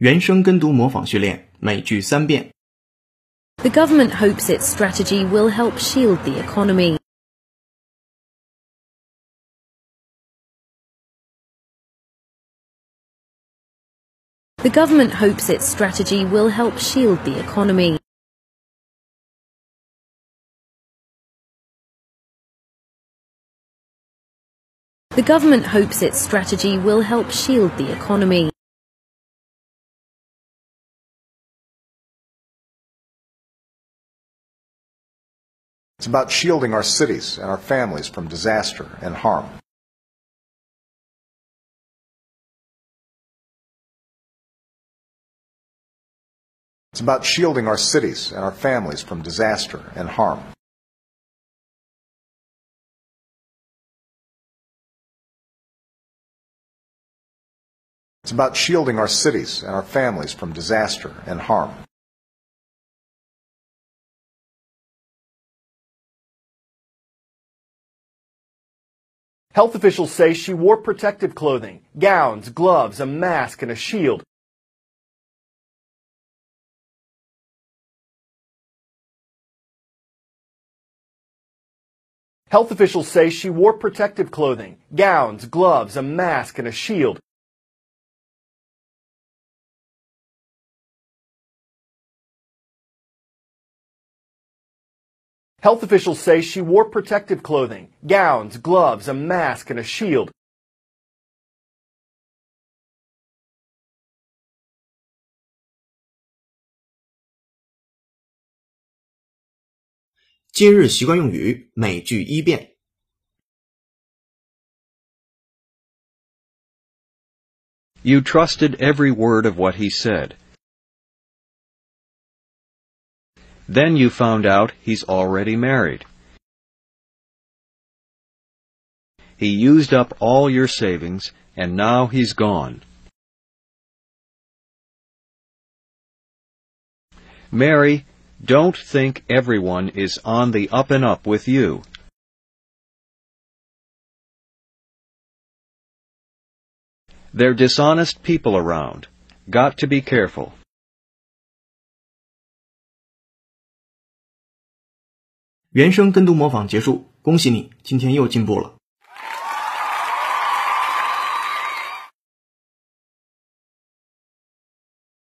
原声跟读模仿训练，每句3遍。 The government hopes its strategy will help shield the economy. The government hopes its strategy will help shield the economy. The government hopes its strategy will help shield the economy. It's about shielding our cities and our families from disaster and harm. It's about shielding our cities and our families from disaster and harm. It's about shielding our cities and our families from disaster and harm. Health officials say she wore protective clothing, gowns, gloves, a mask, and a shield. Health officials say she wore protective clothing, gowns, gloves, a mask, and a shield. Health officials say she wore protective clothing, gowns, gloves, a mask, and a shield. 今日习惯用语，每句1遍。 You trusted every word of what he said. Then you found out he's already married. He used up all your savings, and now he's gone. Mary, don't think everyone is on the up and up with you. They're dishonest people around. Got to be careful. 原声跟读模仿结束，恭喜你，今天又进步了。